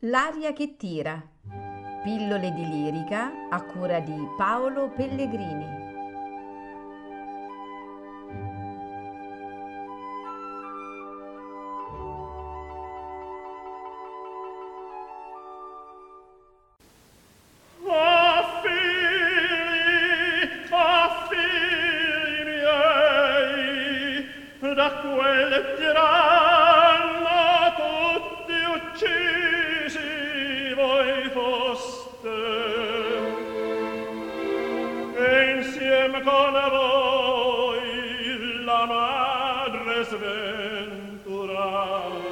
L'aria che tira. Pillole di lirica a cura di Paolo Pellegrini. Da quel tiranno tutti uccisi voi foste, e insieme con voi la madre sventurata.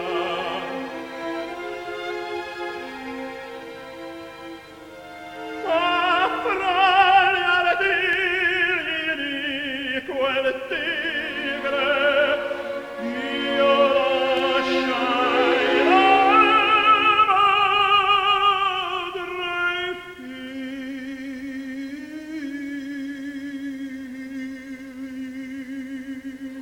Ma fra gli artigli di quel tigre io lasciai la madre e figli.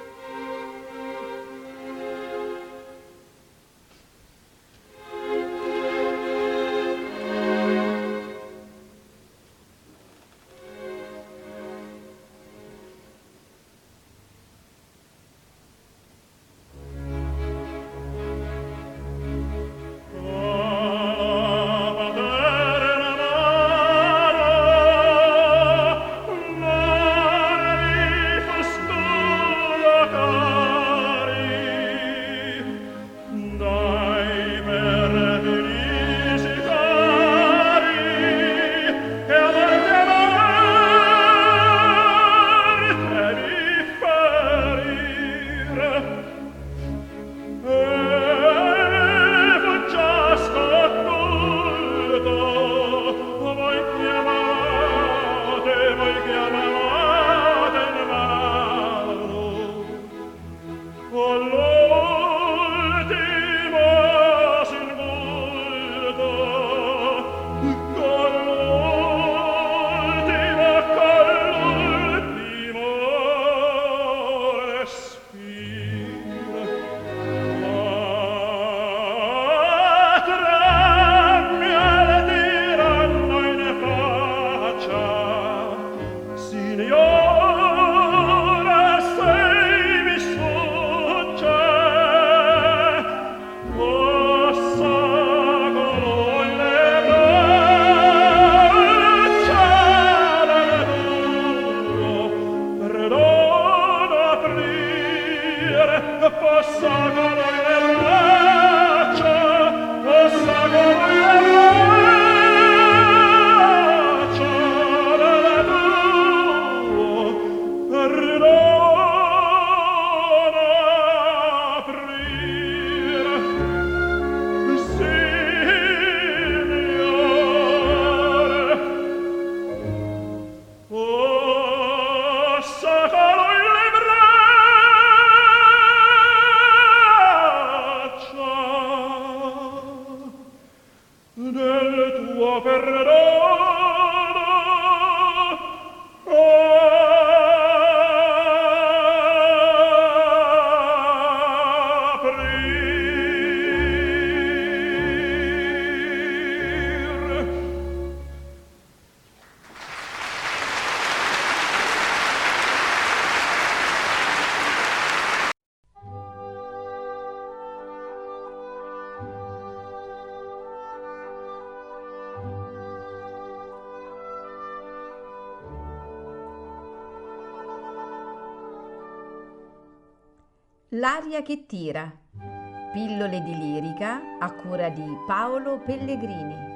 Del tuo perdono aprir. L'aria che tira. Pillole di lirica a cura di Paolo Pellegrini.